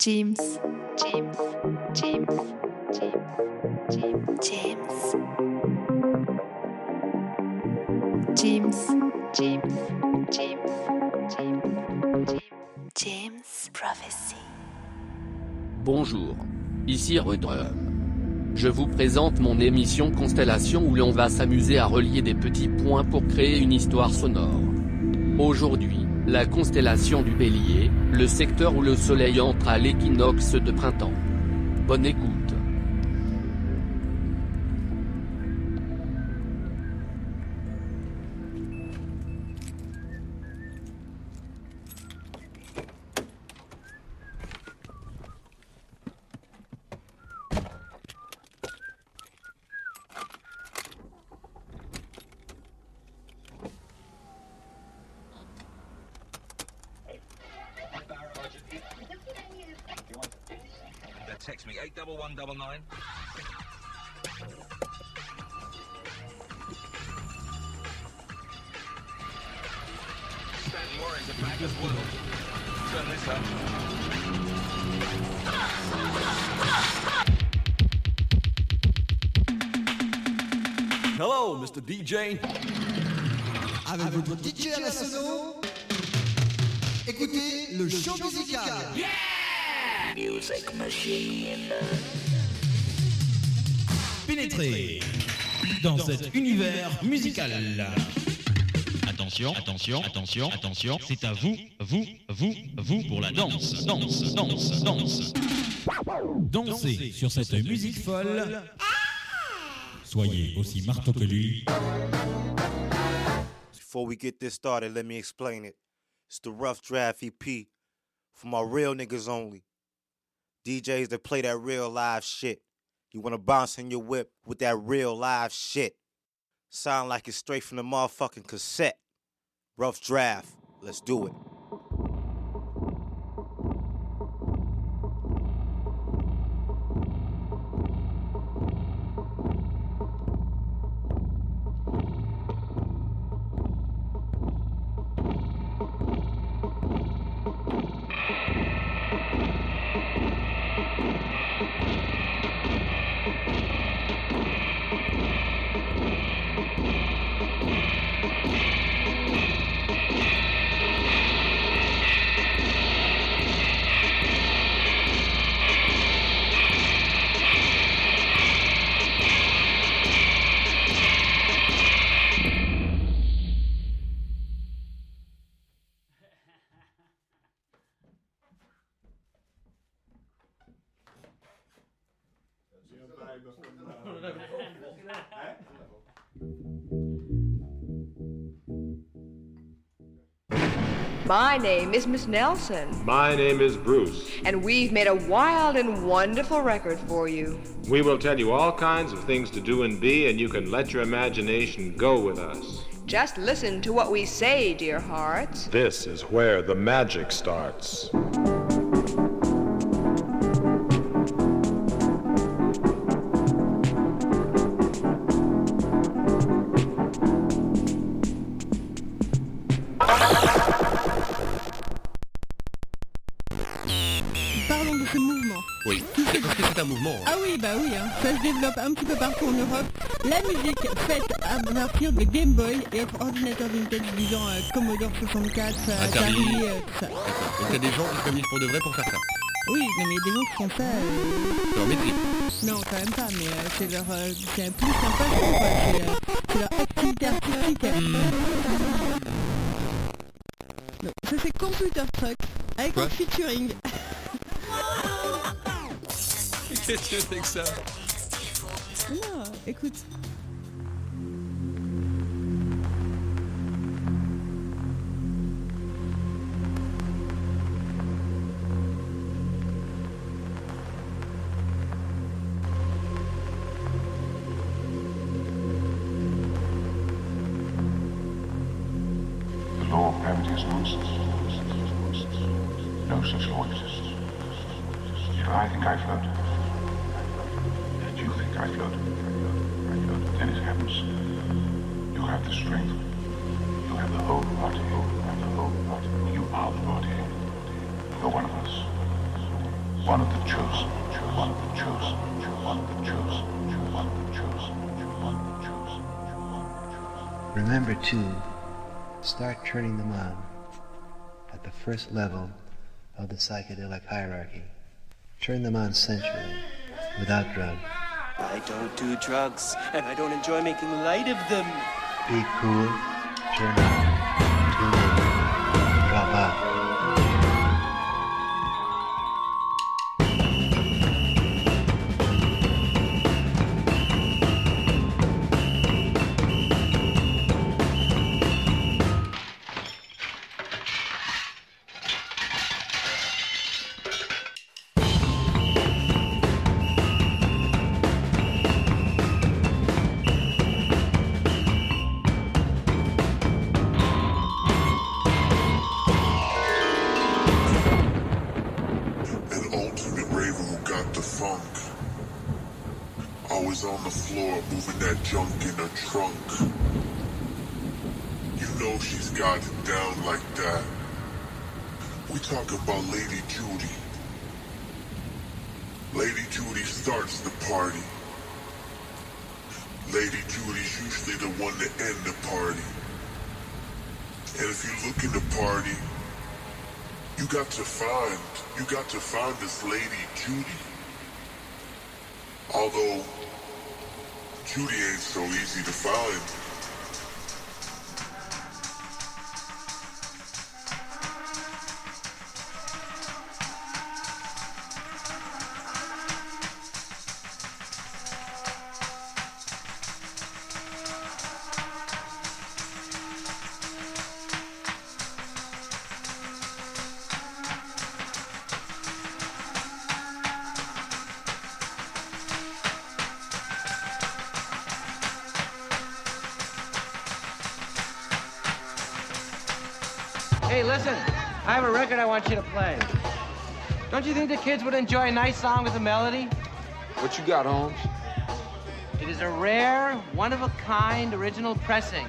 James. James. James. James. James. James. James. James. James. James Prophecy. Bonjour, ici Rudrum. Je vous présente mon émission Constellation où l'on va s'amuser à relier des petits points pour créer une histoire sonore. Aujourd'hui, la constellation du Bélier, le secteur où le soleil entre à l'équinoxe de printemps. Bonne écoute. Text me 81199. Stanton Warren's are back as well. Turn this up. Hello, Mr. DJ. Avec votre DJ à la sono, écoutez le show musical. Yeah! Music machine. Pénétrez dans cet univers musical. Attention, attention, attention, attention, c'est à vous pour la danse, danse, danse, danse. Dansez sur cette musique folle. Soyez aussi marteau que lui. Before we get this started, let me explain it. It's the Rough Draft EP for my real niggas only. DJs that play that real live shit. You wanna bounce in your whip with that real live shit. Sound like it's straight from the motherfucking cassette. Rough Draft, let's do it. My name is Miss Nelson. My name is Bruce. And we've made a wild and wonderful record for you. We will tell you all kinds of things to do and be, and you can let your imagination go with us. Just listen to what we say, dear hearts. This is where the magic starts. Ah oui, bah oui, hein. Ça se développe un petit peu partout en Europe. La musique faite à partir de Game Boy et autres ordinateurs vintage disant Commodore 64, Atari, tout ça. D'accord. Donc il y a des gens qui se réunissent pour de vrai pour faire ça. Oui, non, mais il y a des gens qui font ça... Leur maîtrise. Non, quand même pas, mais c'est leur... c'est plus qu'un passion, quoi. C'est leur activité artistique. Donc, ça c'est Computer Truck avec un featuring. Qu'est-ce que c'est que ça? Non, écoute. The law of gravity is nonsense. No such law exists. If I think I float, and you think I float, then it happens. You have the strength. You have the whole body. You are the body. You're one of us. one of the chosen, one of the chosen, one of the chosen, one of the chosen, one of the chosen, one of the chosen. Remember to start turning them on at the first level of the psychedelic hierarchy. Turn them on sensually, without drugs. I don't do drugs, and I don't enjoy making light of them. Be cool, turn on, tune in, drop out. Talking about Lady Judy. Lady Judy starts the party. Lady Judy's usually the one to end the party. And if you look in the party, you got to find this Lady Judy. Although Judy ain't so easy to find. Hey, listen, I have a record I want you to play. Don't you think the kids would enjoy a nice song with a melody? What you got, Holmes? It is a rare, one-of-a-kind original pressing.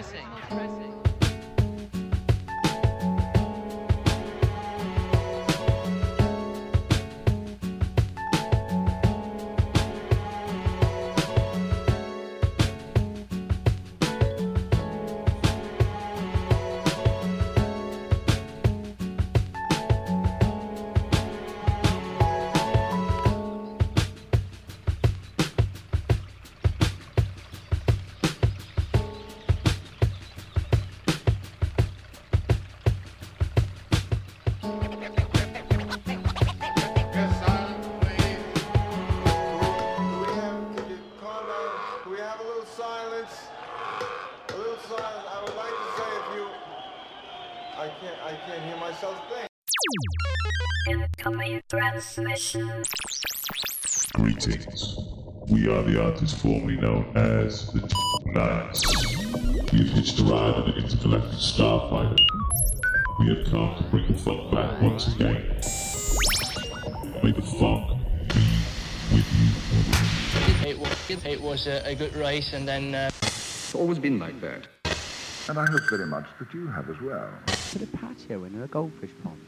I can't hear myself think. Incoming transmission. Greetings. We are the artists formerly known as the Knights. We have hitched a ride on an intergalactic starfighter. We have come to bring the funk back once again. May the funk be with you. It was a good race, and then... It's always been like that. And I hope very much that you have as well. Put a patio in a goldfish pond.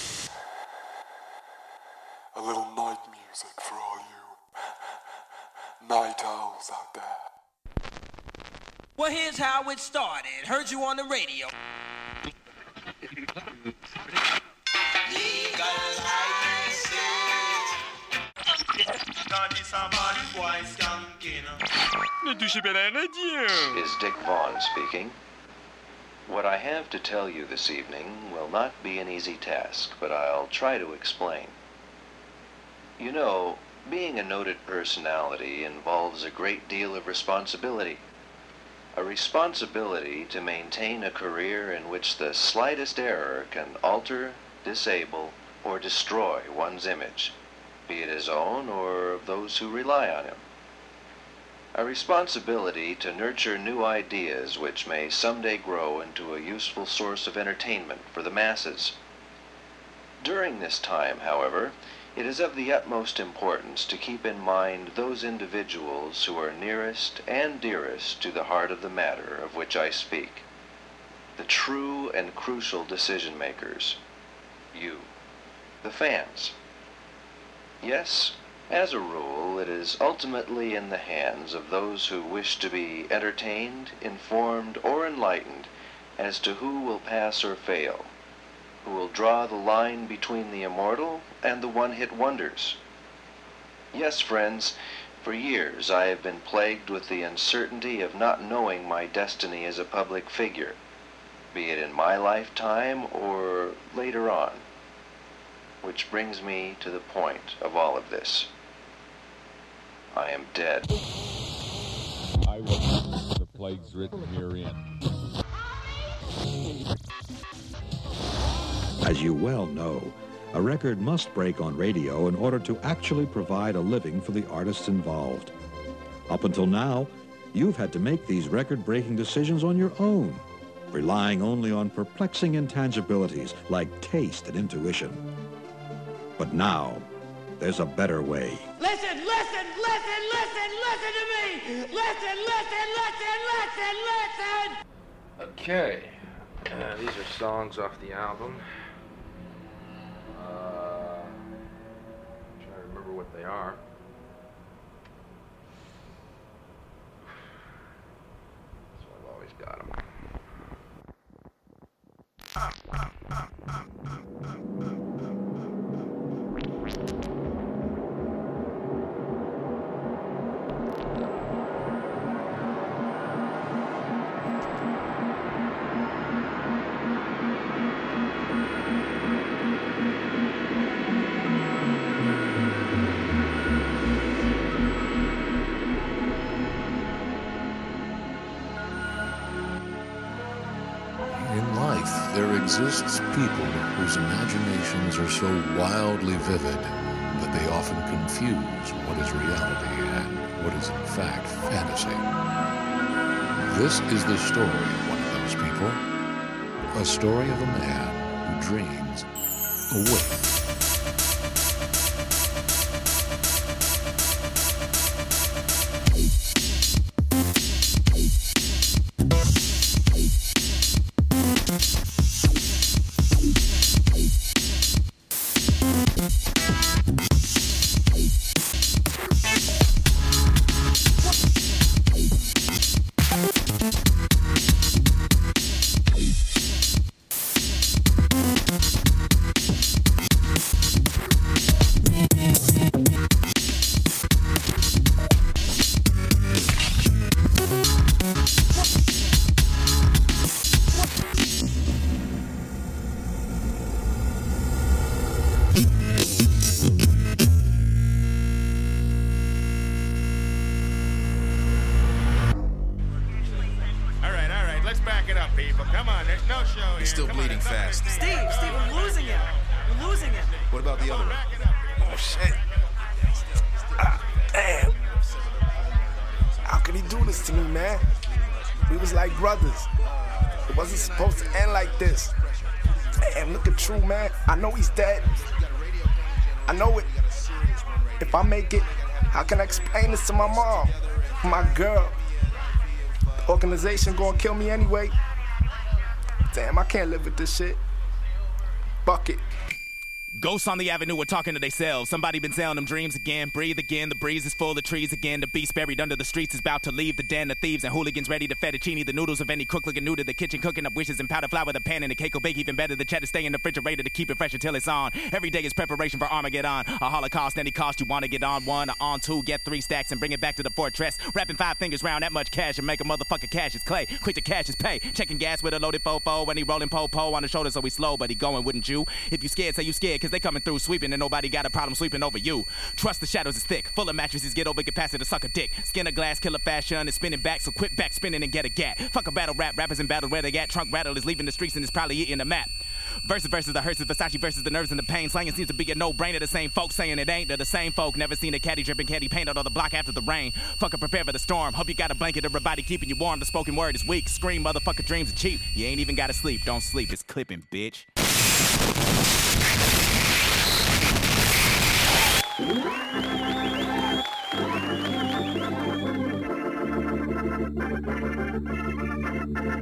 A little night music for all you night owls out there. Well, here's how it started. Heard you on the radio. Is Dick Vaughn speaking. What I have to tell you this evening will not be an easy task, but I'll try to explain. You know, being a noted personality involves a great deal of responsibility. A responsibility to maintain a career in which the slightest error can alter, disable, or destroy one's image, be it his own or of those who rely on him. A responsibility to nurture new ideas which may someday grow into a useful source of entertainment for the masses. During this time, however, it is of the utmost importance to keep in mind those individuals who are nearest and dearest to the heart of the matter of which I speak. The true and crucial decision makers. You, the fans. Yes, as a rule, it is ultimately in the hands of those who wish to be entertained, informed, or enlightened as to who will pass or fail, who will draw the line between the immortal and the one-hit wonders. Yes, friends, for years I have been plagued with the uncertainty of not knowing my destiny as a public figure, be it in my lifetime or later on. Which brings me to the point of all of this. I am dead. I will the plagues written herein. As you well know, a record must break on radio in order to actually provide a living for the artists involved. Up until now, you've had to make these record-breaking decisions on your own, relying only on perplexing intangibilities like taste and intuition. But now, there's a better way. Listen, listen, listen, listen, listen to me! Listen, listen, listen, listen, listen! Okay, these are songs off the album. I'm trying to remember what they are. So I've always got them. In life, there exists people whose imaginations are so wildly vivid that they often confuse what is reality and what is in fact fantasy. This is the story of one of those people, a story of a man who dreams awake. I know he's dead. I know it. If I make it, how can I explain this to my mom? My girl. The organization gonna kill me anyway. Damn, I can't live with this shit. Fuck it. Ghosts on the avenue are talking to theyselves. Somebody been selling them dreams again. Breathe again. The breeze is full of trees again. The beast buried under the streets is about to leave the den. The thieves and hooligans ready to fettuccine the noodles of any crook looking new to the kitchen. Cooking up wishes and powder flour. The pan and the cake will bake even better. The cheddar stay in the refrigerator to keep it fresh until it's on. Every day is preparation for Armageddon. A holocaust, any cost you want to get on one or on two. Get 3 stacks and bring it back to the fortress. Wrapping 5 fingers round that much cash and make a motherfucker cash is clay. Quick to cash is pay. Checking gas with a loaded fofo. When he rolling po-po on the shoulder so he slow. But he going, wouldn't you? If you scared, say you scared. Cause they coming through sweeping. And nobody got a problem sweeping over you. Trust the shadows is thick, full of mattresses, get over capacity to suck a dick. Skin of glass, killer fashion, is spinning back, so quit back spinning and get a gat. Fuck a battle rap, rappers in battle where they at. Trunk rattle is leaving the streets and is probably eating the map. Versus the hearses, Versace versus the nerves and the pain. Slanging seems to be a no-brainer. The same folks saying it ain't. They're the same folk. Never seen a caddy dripping caddy paint out on the block after the rain. Fucker, prepare for the storm. Hope you got a blanket, everybody keeping you warm. The spoken word is weak. Scream, motherfucker, dreams are cheap. You ain't even gotta sleep. Don't sleep, it's clipping, bitch.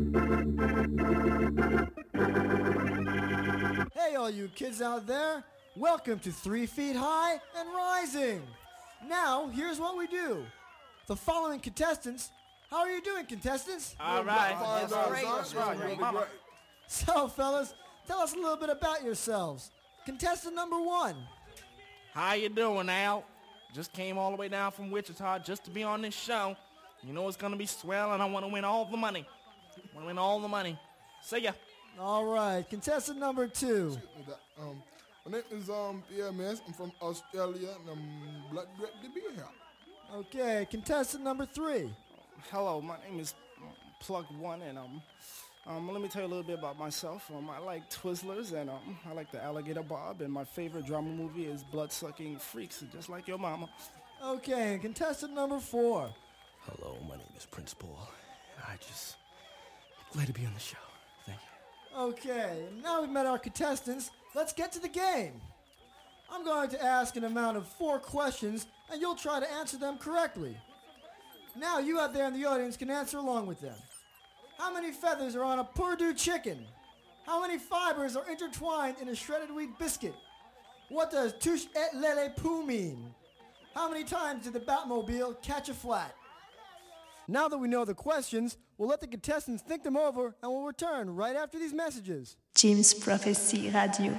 Hey, all you kids out there, Welcome to 3 Feet High and Rising. Now, here's what we do. The following contestants, how are you doing, contestants? All right. That's great. So, fellas, tell us a little bit about yourselves. Contestant number 1. How you doing, Al? Just came all the way down from Wichita just to be on this show. You know it's going to be swell, and I want to win all the money. See ya. All right. Contestant number 2. My name is Pierre Mess. I'm from Australia, and I'm glad to be here. Okay. Contestant number 3. Hello, my name is Plug One, and let me tell you a little bit about myself. I like Twizzlers, and I like the Alligator Bob, and my favorite drama movie is Blood-Sucking Freaks, just like your mama. Okay, and contestant number 4. Hello, my name is Prince Paul. Glad to be on the show. Thank you. Okay, now we've met our contestants, let's get to the game. I'm going to ask an amount of 4 questions, and you'll try to answer them correctly. Now you out there in the audience can answer along with them. How many feathers are on a Purdue chicken? How many fibers are intertwined in a shredded wheat biscuit? What does touche et lele pou mean? How many times did the Batmobile catch a flat? Now that we know the questions, we'll let the contestants think them over and we'll return right after these messages. Jim's Prophecy Radio.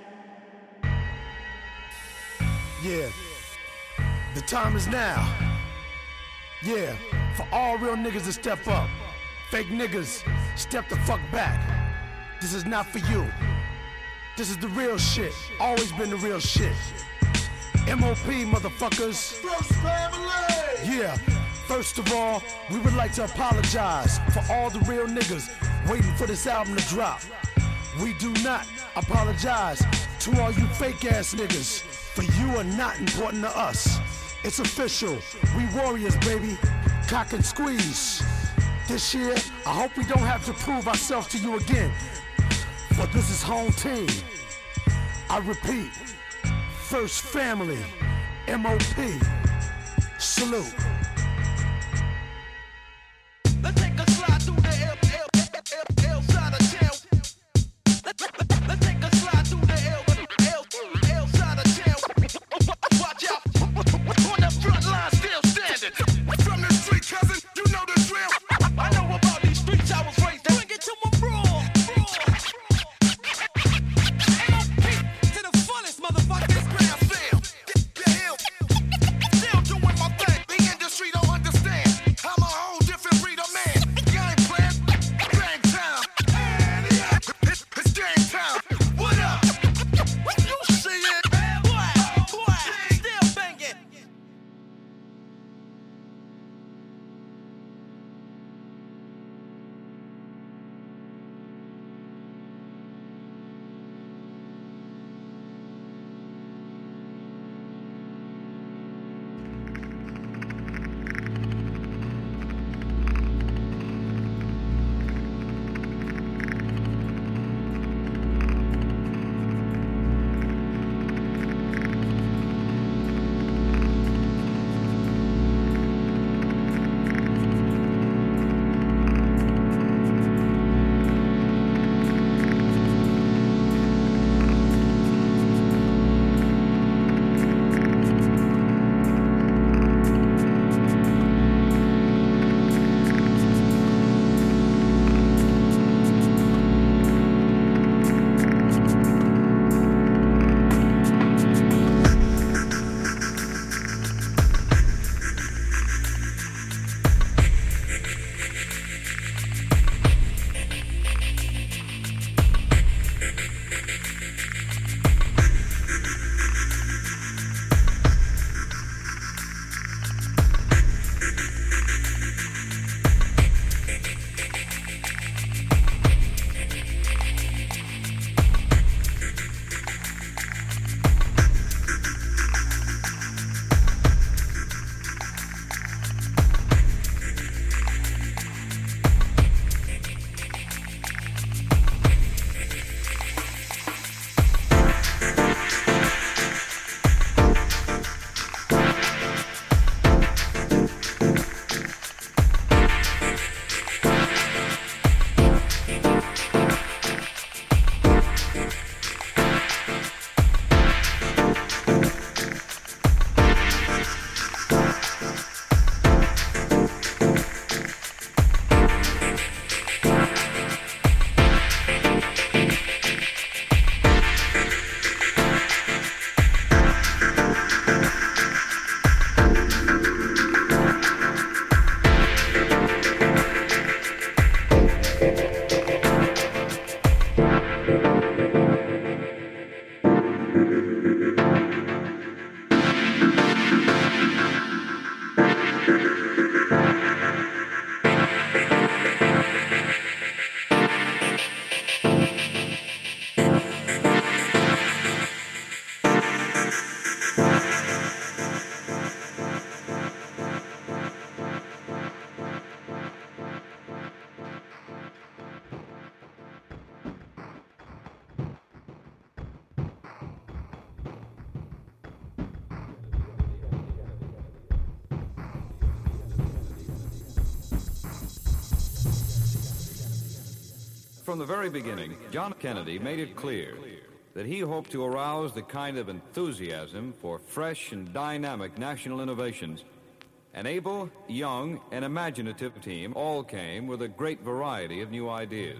Yeah. The time is now. Yeah. For all real niggas to step up. Fake niggas, step the fuck back. This is not for you. This is the real shit. Always been the real shit. MOP, motherfuckers. First family! Yeah. First of all, we would like to apologize for all the real niggas waiting for this album to drop. We do not apologize to all you fake ass niggas, for you are not important to us. It's official. We warriors, baby. Cock and squeeze. This year, I hope we don't have to prove ourselves to you again. But this is home team. I repeat, First Family, MOP. Salute. Let's take a slide through the L side of town. Let's take a slide through the L side of town. Watch out. On the front line, still standing. From the street, cousin, you know the drill. I know about these streets, I was raised. Bring it to my bro. MOP to the fullest, motherfuckers. Grand fam. Still doing my thing. The industry. From the very beginning, John Kennedy made it clear that he hoped to arouse the kind of enthusiasm for fresh and dynamic national innovations. An able, young, and imaginative team all came with a great variety of new ideas.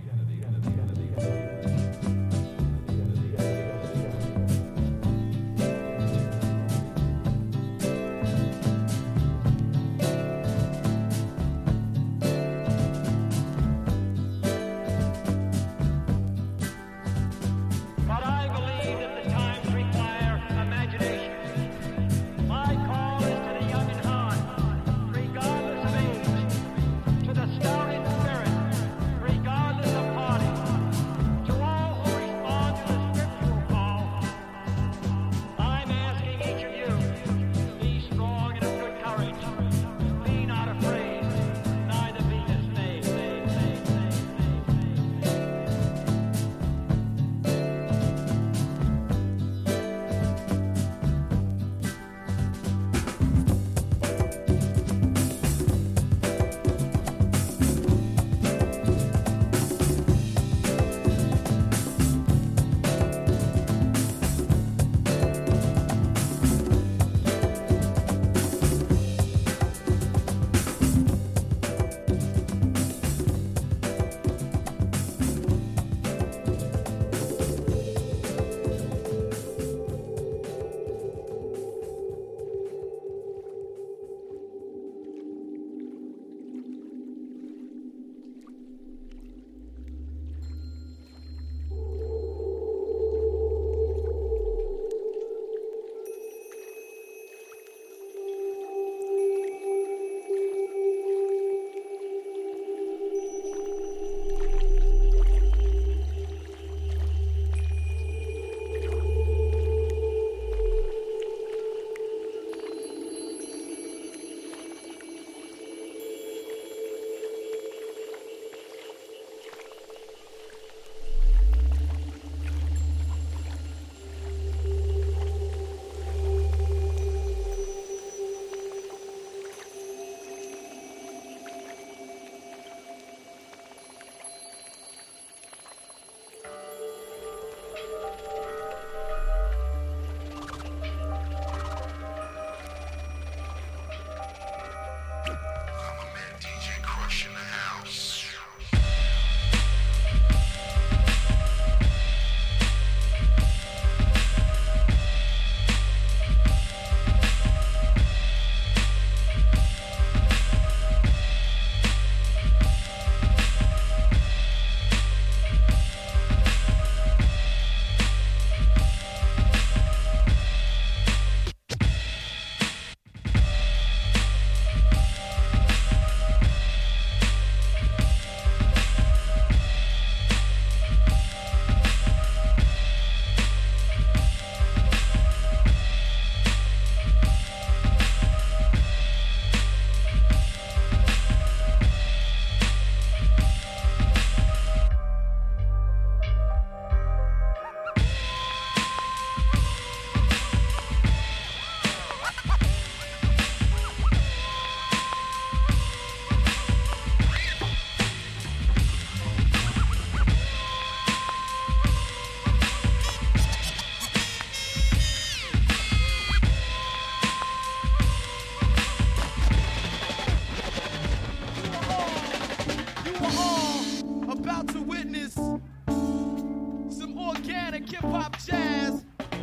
organic hip-hop jazz,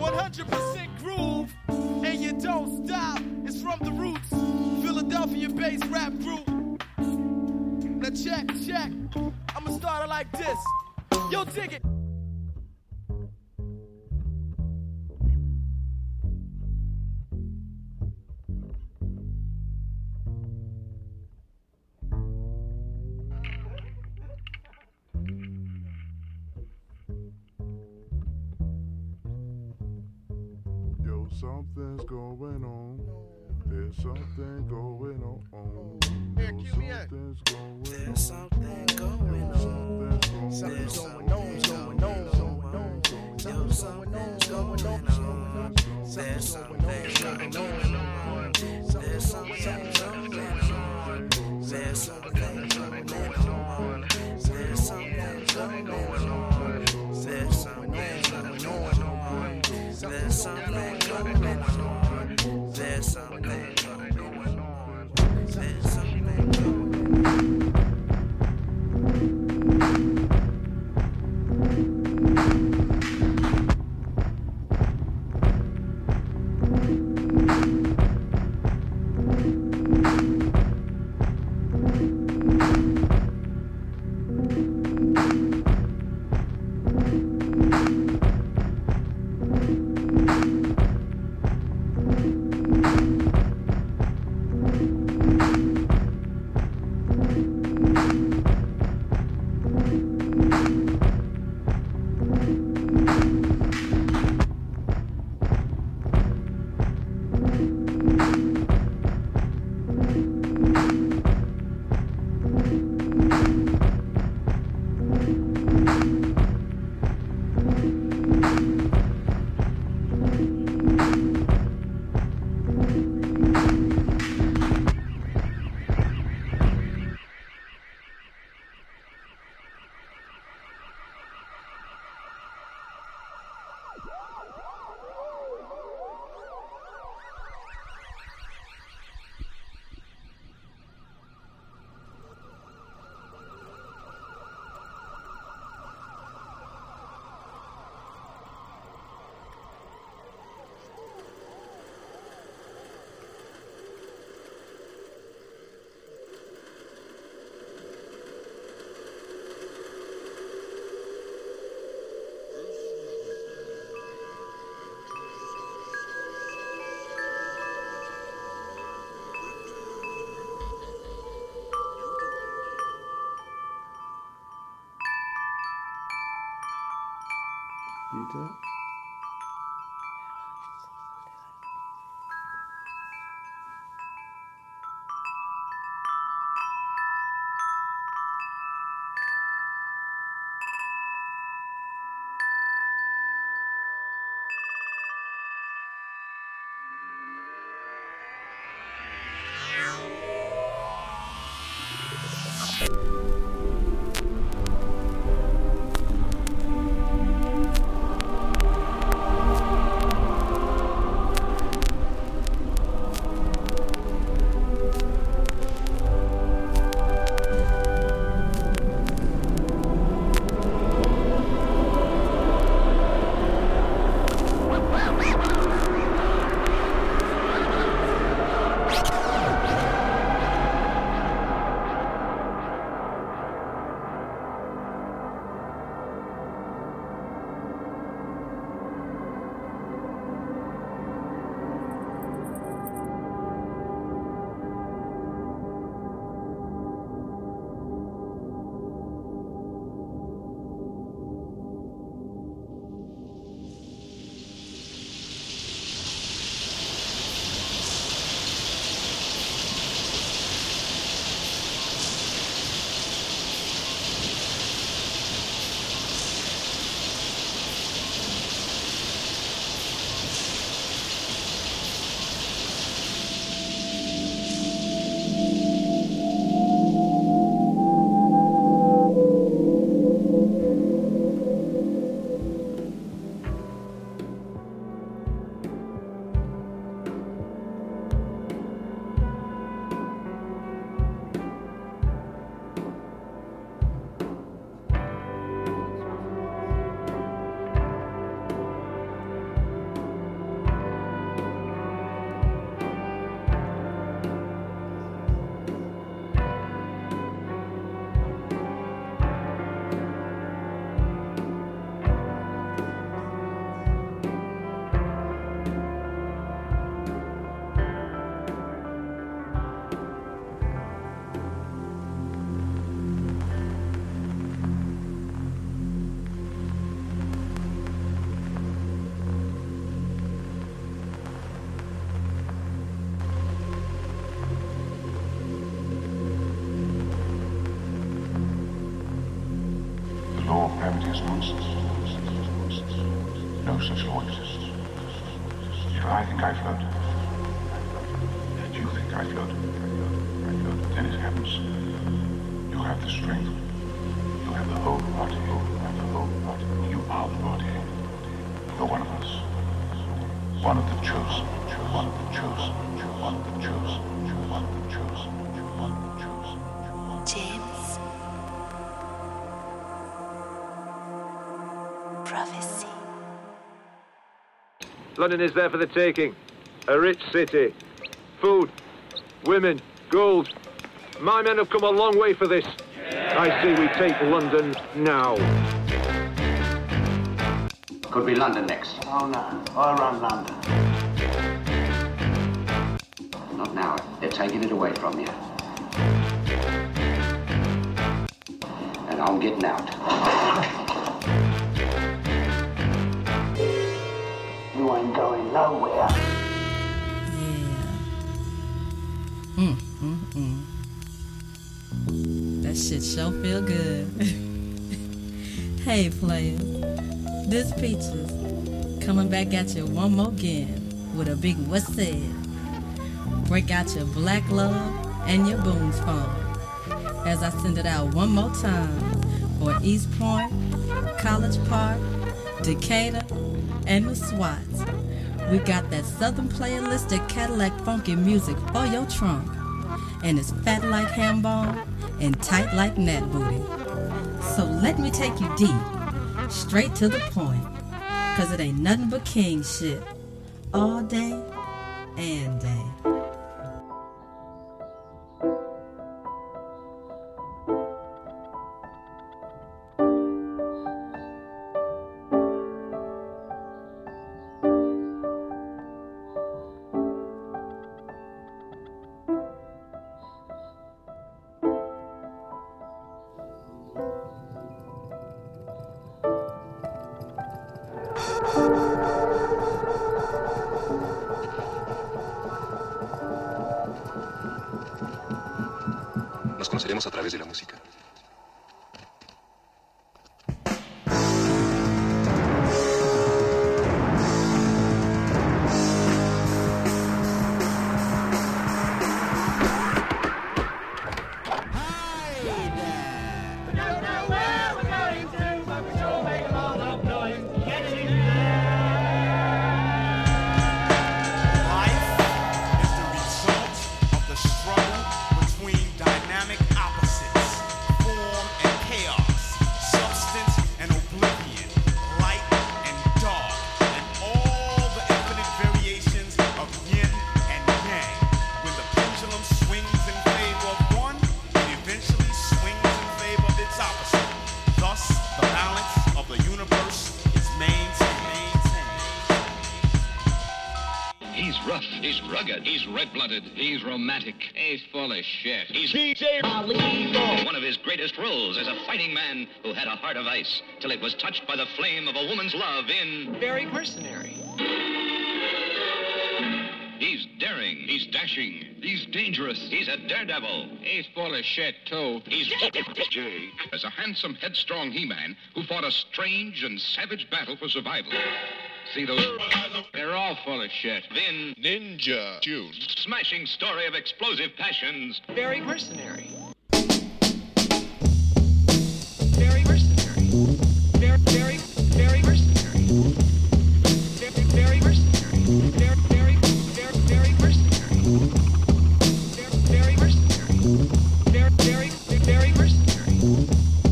100% groove, and you don't stop. It's from the Roots, Philadelphia-based rap group. Now check. I'ma start it like this. Yo, dig it. Something's going on. There's something going on. There's something going on. Something's going on. There's something going on. There's something going on. There's something going on. There's something going on. There's something going on. There's something going on. that. law of gravity is nonsense. No such law exists. If I think I float, and you think I float, then it happens. You have the strength. You have the whole body. You are the body. You're one of us. One of the chosen. One of the chosen. One of the chosen. One of the chosen. One of the chosen. James. Prophecy. London is there for the taking. A rich city. Food, women, gold. My men have come a long way for this. I say we take London now. Could be London next. Oh no, I'll run London. Not now. They're taking it away from you. And I'm getting out. You ain't going nowhere. That shit sure feel good. Hey players, this Peaches coming back at you one more again with a big what's said. Break out your black love and your booms phone as I send it out one more time for East Point, College Park, Decatur, and the Swats. We got that Southern playalistic Cadillac funky music for your trunk. And it's fat like ham bone and tight like nat booty. So let me take you deep, straight to the point, cause it ain't nothing but king shit, all day and day. Nos conoceremos a través de la música. He's romantic. He's full of shit. He's DJ Ali. One of his greatest roles as a fighting man who had a heart of ice till it was touched by the flame of a woman's love in Very Mercenary. He's daring. He's dashing. He's dangerous. He's a daredevil. He's full of shit, too. He's Jake as a handsome, headstrong He-Man who fought a strange and savage battle for survival. See those? They're all full of shit. Then Ninja June. Smashing story of explosive passions. Very Mercenary. Very Mercenary. Very Mercenary. Very Mercenary. Very Mercenary. Very Mercenary. Very Mercenary.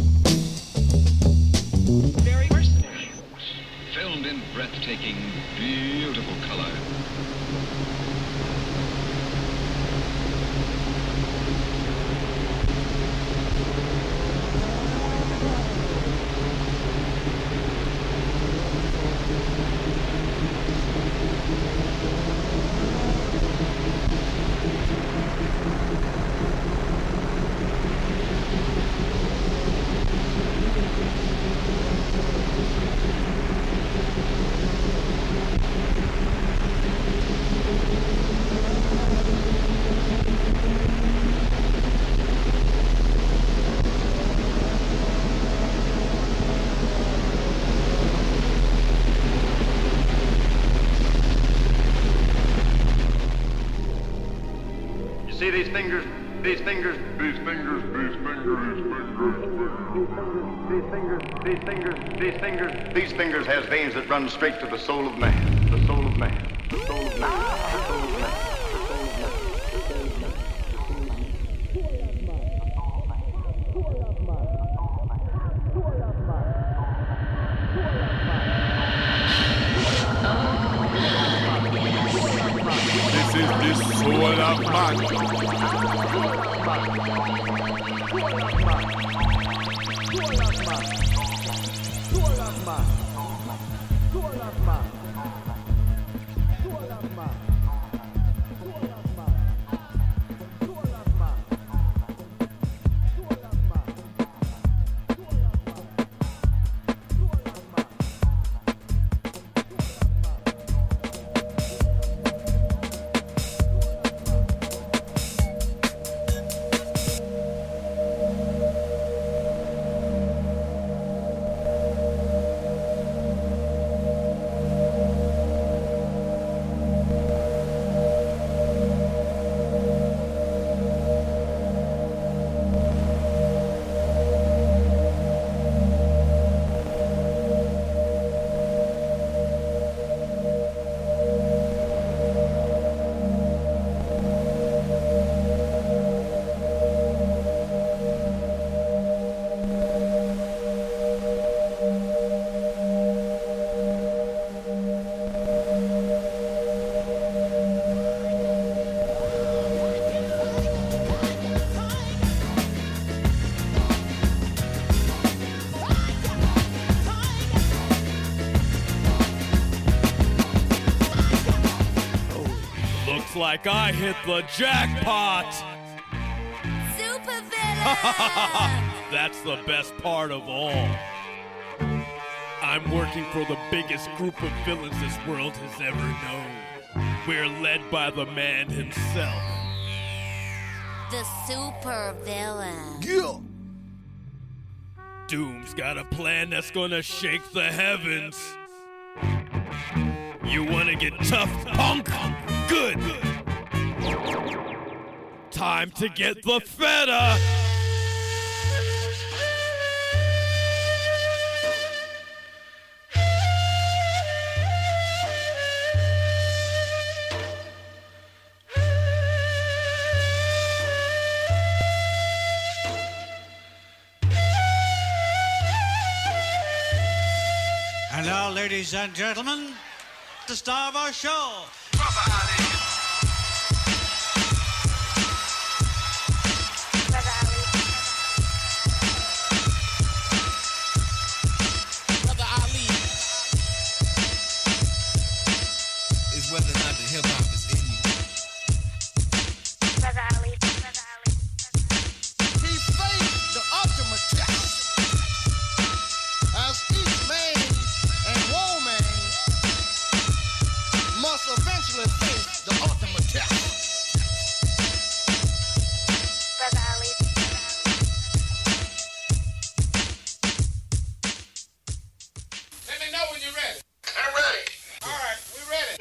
Very Mercenary. Filmed in breathtaking, beautiful color. See these fingers, these fingers, these fingers, these fingers, these fingers, these fingers, these fingers, these fingers has veins that run straight to the soul of man, the soul of man, the soul of man, the soul of man, the soul of man. This is the soul of man. Like I hit the jackpot. Super villain. That's the best part of all. I'm working for the biggest group of villains this world has ever known. We're led by the man himself. The super villain. Yeah. Doom's got a plan that's gonna shake the heavens. You wanna get tough, punk? Good. Time to get the feta. And now, ladies and gentlemen, the star of our show. Brother Ali is whether or not the hip hop is in you. Brother Ali. He faced the ultimate test as each man and woman must eventually face the ultimate test. Brother Ali. Let me know when you're ready. I'm ready. All right, we're ready.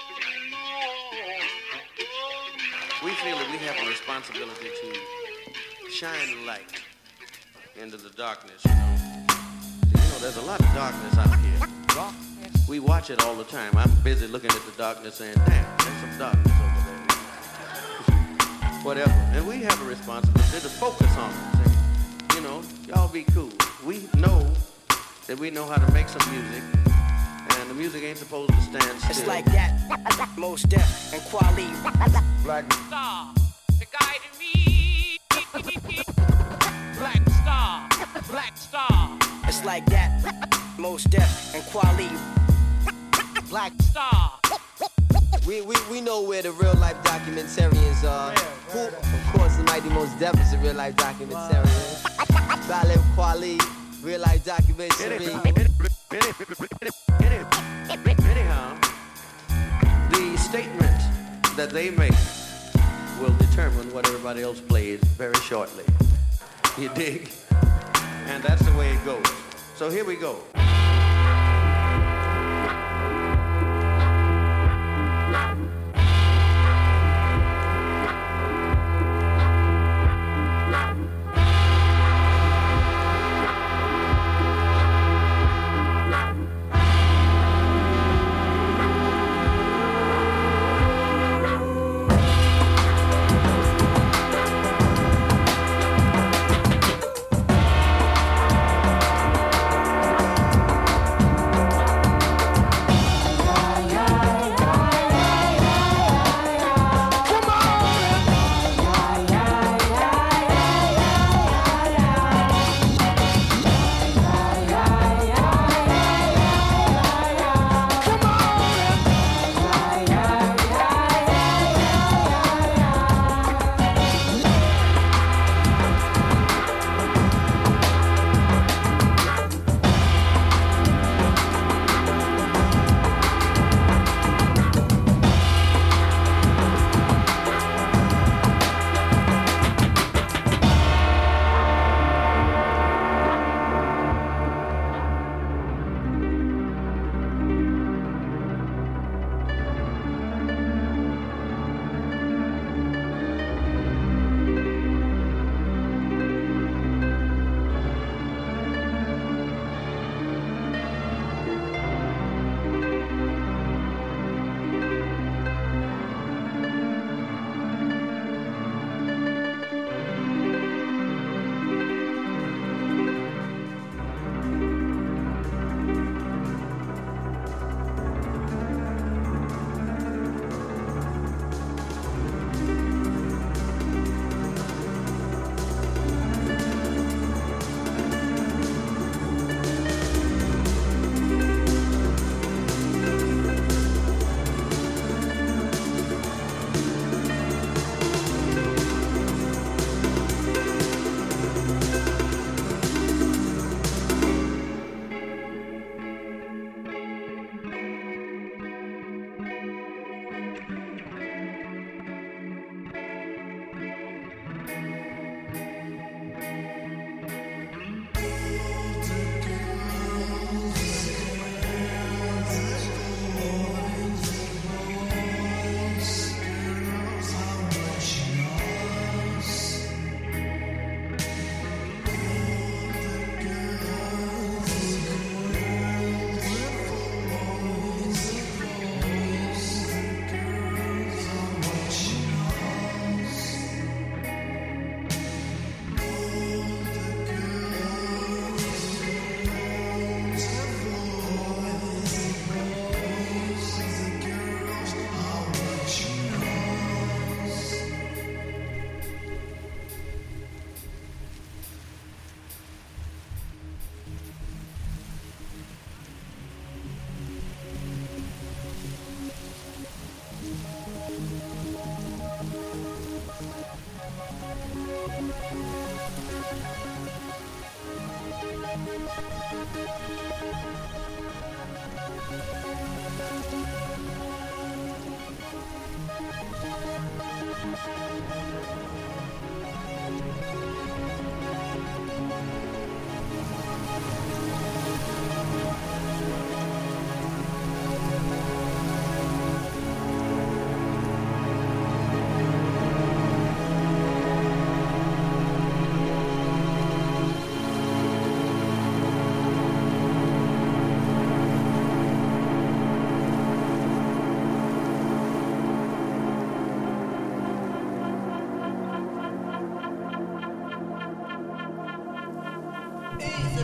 We feel that we have a responsibility to shine light into the darkness, you know. You know, there's a lot of darkness out here. We watch it all the time. I'm busy looking at the darkness saying, damn, there's some darkness over there. Whatever. And we have a responsibility to focus on it. Say, you know, y'all be cool. We know that we know how to make some music, and the music ain't supposed to stand still. It's like that. Most Def and Quali. Black Star, the guiding me. Black Star, Black Star. It's like that. Most Def and Quali. Black Star. We know where the real life documentarians are. Who, of course, the Mighty Most Def is a real life documentarian. Ballet Quali, real life documentary. Anyhow, the statement that they make will determine what everybody else plays very shortly. You dig? And that's the way it goes. So here we go.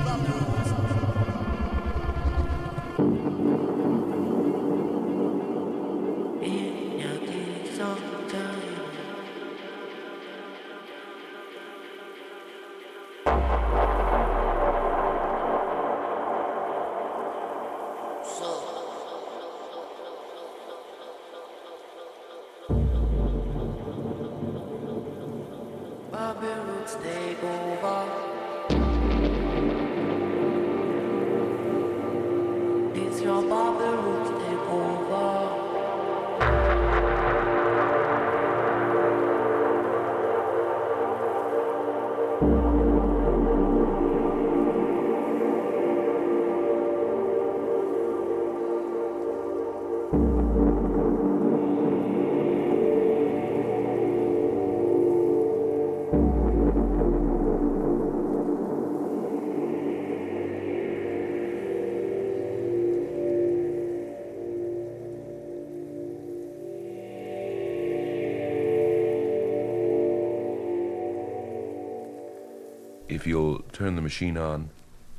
If you'll turn the machine on.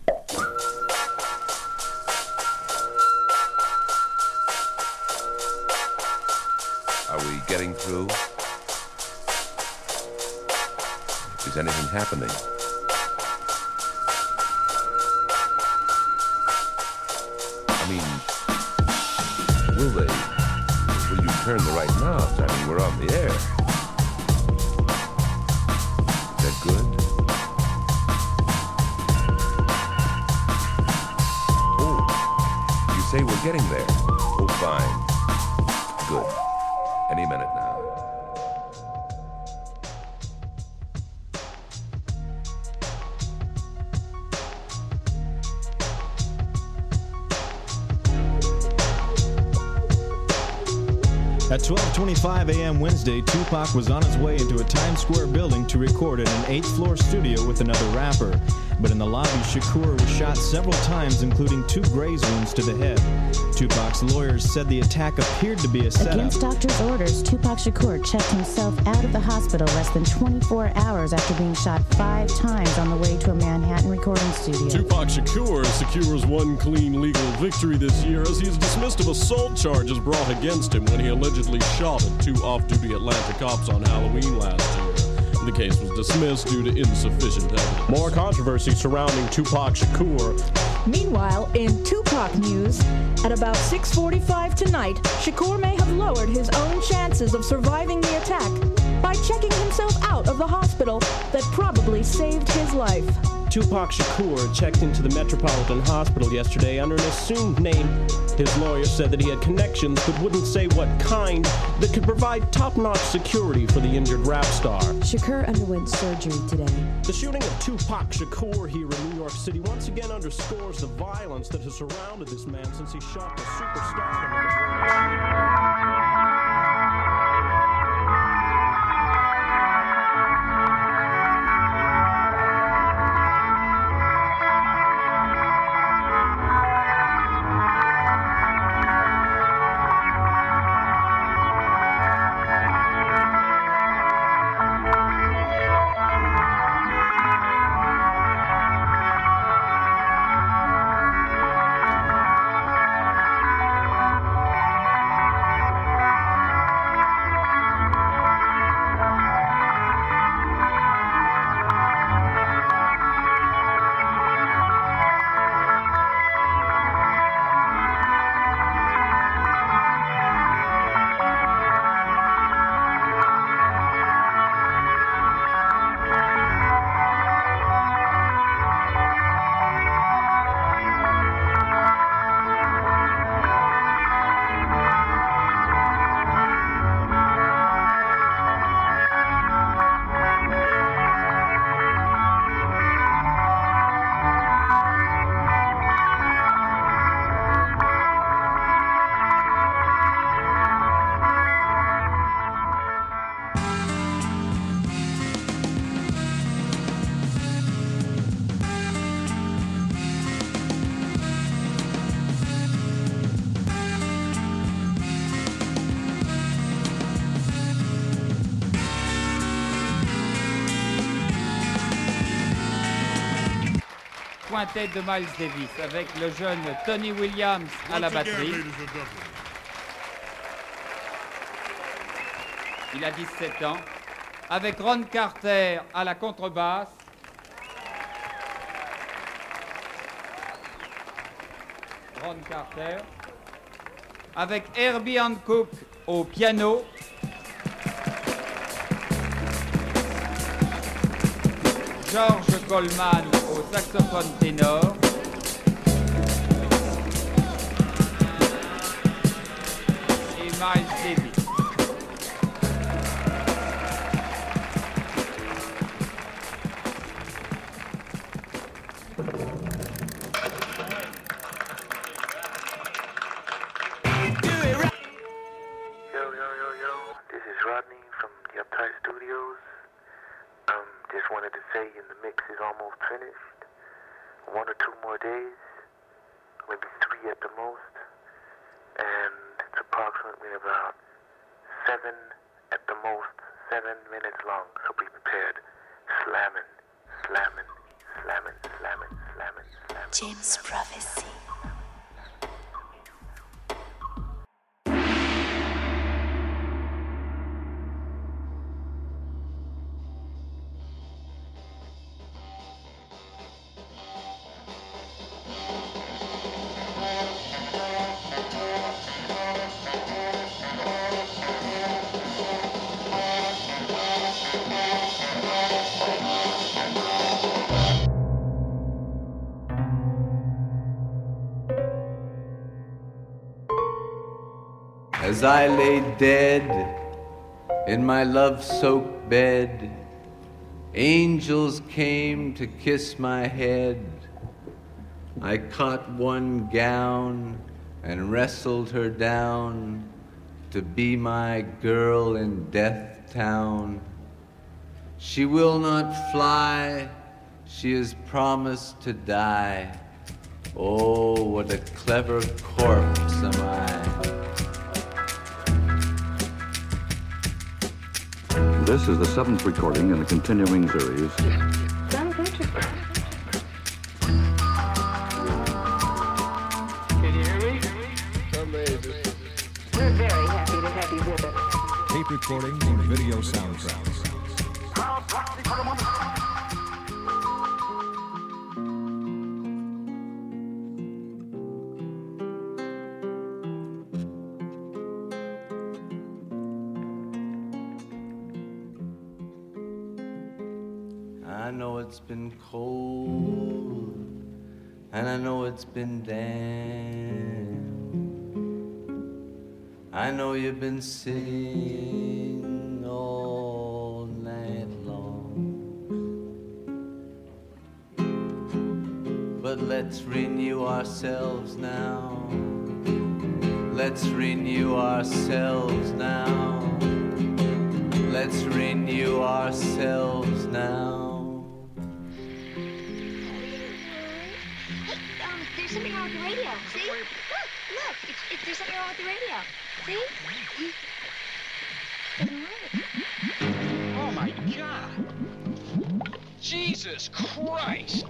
Are we getting through? Is anything happening? I mean, will they? Will you turn the right knobs? I mean, we're on the air. Is that good? Say we're getting there. Oh, fine. Good. Any minute now. At 12:25 a.m. Wednesday, Tupac was on his way into a Times Square building to record in an 8th-floor studio with another rapper. But in the lobby, Shakur was shot several times, including 2 graze wounds to the head. Tupac's lawyers said the attack appeared to be a setup. Against doctors' orders, Tupac Shakur checked himself out of the hospital less than 24 hours after being shot 5 times on the way to a Manhattan recording studio. Tupac Shakur secures one clean legal victory this year as he is dismissed of assault charges brought against him when he allegedly shot at 2 off-duty Atlanta cops on Halloween last year. The case was dismissed due to insufficient evidence. More controversy surrounding Tupac Shakur. Meanwhile, in Tupac news, at about 6:45 tonight, Shakur may have lowered his own chances of surviving the attack by checking himself out of the hospital that probably saved his life. Tupac Shakur checked into the Metropolitan Hospital yesterday under an assumed name. His lawyer said that he had connections but wouldn't say what kind that could provide top-notch security for the injured rap star. Shakur underwent surgery today. The shooting of Tupac Shakur here in New York City once again underscores the violence that has surrounded this man since he shot the superstardom of the world. quintet de Miles Davis avec le jeune Tony Williams à la batterie. Il a 17 ans. Avec Ron Carter à la contrebasse. Ron Carter. Avec Herbie Hancock au piano. George Coleman au saxophone ténor. Et Miles Davis. James Prophecy. As I lay dead in my love-soaked bed, angels came to kiss my head. I caught one gown and wrestled her down to be my girl in Death Town. She will not fly, she has promised to die. Oh, what a clever corpse am I. This is the 7th recording in the continuing series. Sounds interesting. Can you hear me? Amazing. We're very happy to have you with us. Tape recordings and video soundtracks. I know it's been cold, and I know it's been damp. I know you've been sitting all night long. But let's renew ourselves now. Let's renew ourselves now. Let's renew ourselves now. There's something wrong with the radio. See? Look, there's something wrong with the radio. See? Oh my God! Jesus Christ!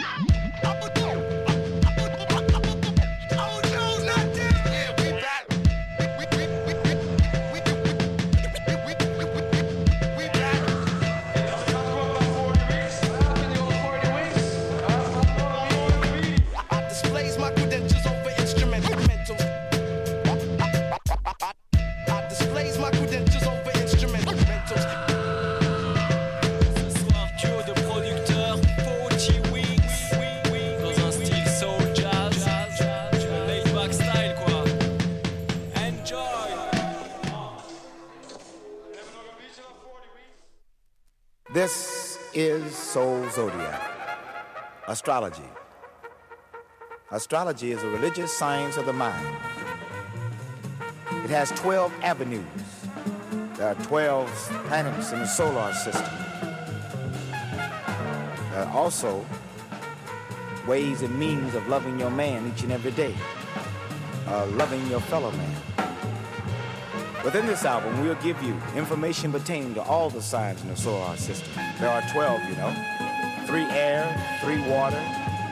This is Soul Zodiac, astrology. Astrology is a religious science of the mind. It has 12 avenues. There are 12 planets in the solar system. There are also ways and means of loving your man each and every day, loving your fellow man. Within this album, we'll give you information pertaining to all the signs in the solar system. There are 12, you know. 3 air, 3 water,